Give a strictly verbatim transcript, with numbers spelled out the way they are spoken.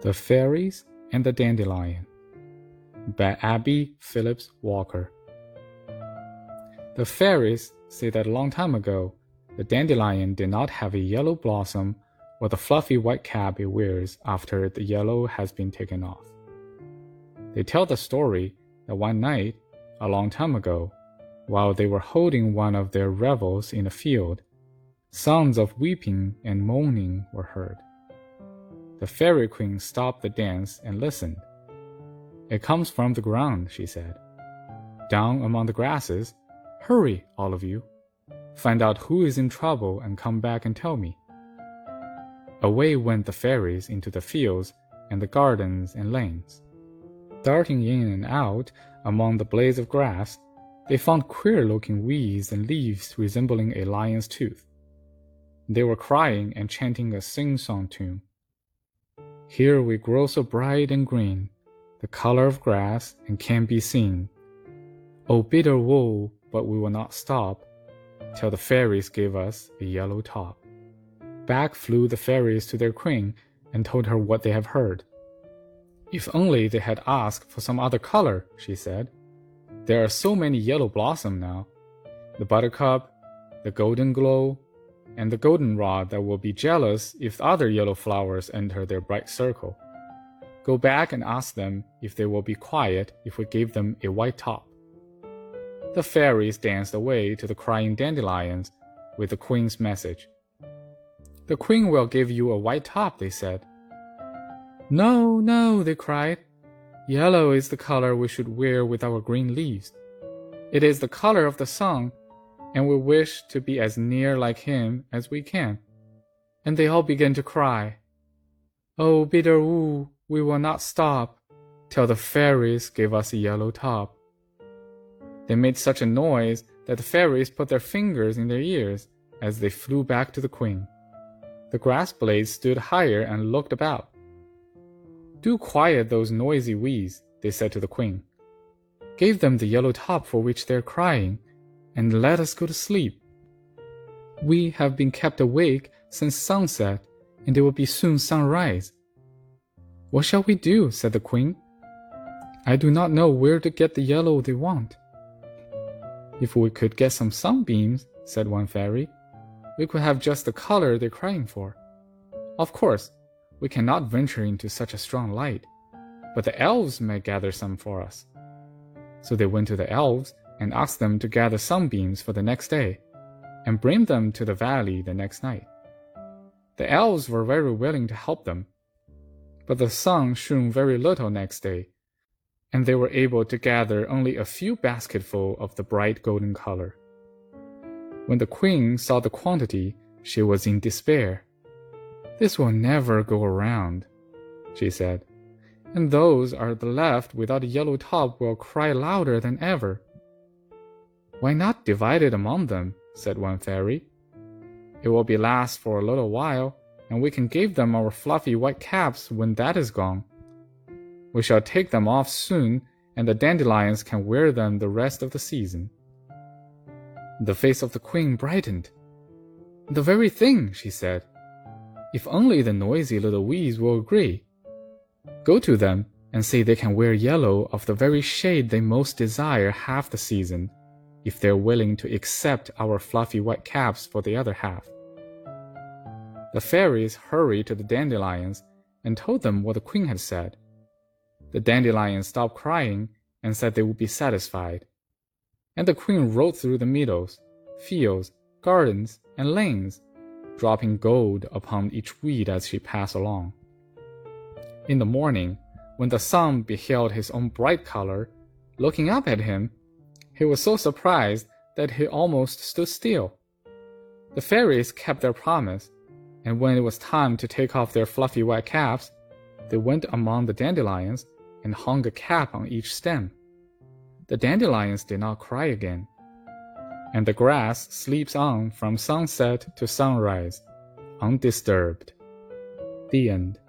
The Fairies and the Dandelion by Abby Phillips Walker. The fairies say that a long time ago, the dandelion did not have a yellow blossom or the fluffy white cap it wears after the yellow has been taken off. They tell the story that one night, a long time ago, while they were holding one of their revels in a field, sounds of weeping and moaning were heard. The fairy queen stopped the dance and listened. "It comes from the ground," she said. "Down among the grasses. Hurry, all of you. Find out who is in trouble and come back and tell me." Away went the fairies into the fields and the gardens and lanes. Darting in and out among the blades of grass, they found queer-looking weeds and leaves resembling a lion's tooth. They were crying and chanting a sing-song tune. "Here we grow so bright and green, the color of grass, and can be seen. Oh, bitter wool, but we will not stop, till the fairies give us a yellow top." Back flew the fairies to their queen and told her what they have heard. "If only they had asked for some other color," she said. "There are so many yellow blossoms now, the buttercup, the golden glow, and the goldenrod that will be jealous if other yellow flowers enter their bright circle. Go back and ask them if they will be quiet if we give them a white top." The fairies danced away to the crying dandelions with the queen's message. "The queen will give you a white top," they said. "No, no," they cried. "Yellow is the color we should wear with our green leaves. It is the color of the sun, and we wish to be as near like him as we can." And they all began to cry. "Oh, bitter wool, we will not stop, till the fairies give us a yellow top." They made such a noise that the fairies put their fingers in their ears as they flew back to the queen. The grass blades stood higher and looked about. "Do quiet those noisy weeds," they said to the queen. "Give them the yellow top for which they are crying, and let us go to sleep. We have been kept awake since sunset, and it will be soon sunrise." "What shall we do?" said the queen. "I do not know where to get the yellow they want." "If we could get some sunbeams," said one fairy, "we could have just the color they're crying for. Of course, we cannot venture into such a strong light, but the elves may gather some for us." So they went to the elves and asked them to gather sunbeams for the next day, and bring them to the valley the next night. The elves were very willing to help them, but the sun shone very little next day, and they were able to gather only a few basketfuls of the bright golden color. When the queen saw the quantity, she was in despair. "This will never go around," she said, "and those are the left without a yellow top will cry louder than ever." "Why not divide it among them?" said one fairy. "It will be last for a little while, and we can give them our fluffy white caps when that is gone. We shall take them off soon, and the dandelions can wear them the rest of the season." The face of the queen brightened. "The very thing," she said. "If only the noisy little weeds will agree. Go to them and say they can wear yellow of the very shade they most desire half the season, if they're willing to accept our fluffy white caps for the other half." The fairies hurried to the dandelions and told them what the queen had said. The dandelions stopped crying and said they would be satisfied. And the queen rode through the meadows, fields, gardens, and lanes, dropping gold upon each weed as she passed along. In the morning, when the sun beheld his own bright color, looking up at him, he was so surprised that he almost stood still. The fairies kept their promise, and when it was time to take off their fluffy white caps, they went among the dandelions and hung a cap on each stem. The dandelions did not cry again, and the grass sleeps on from sunset to sunrise, undisturbed. The end.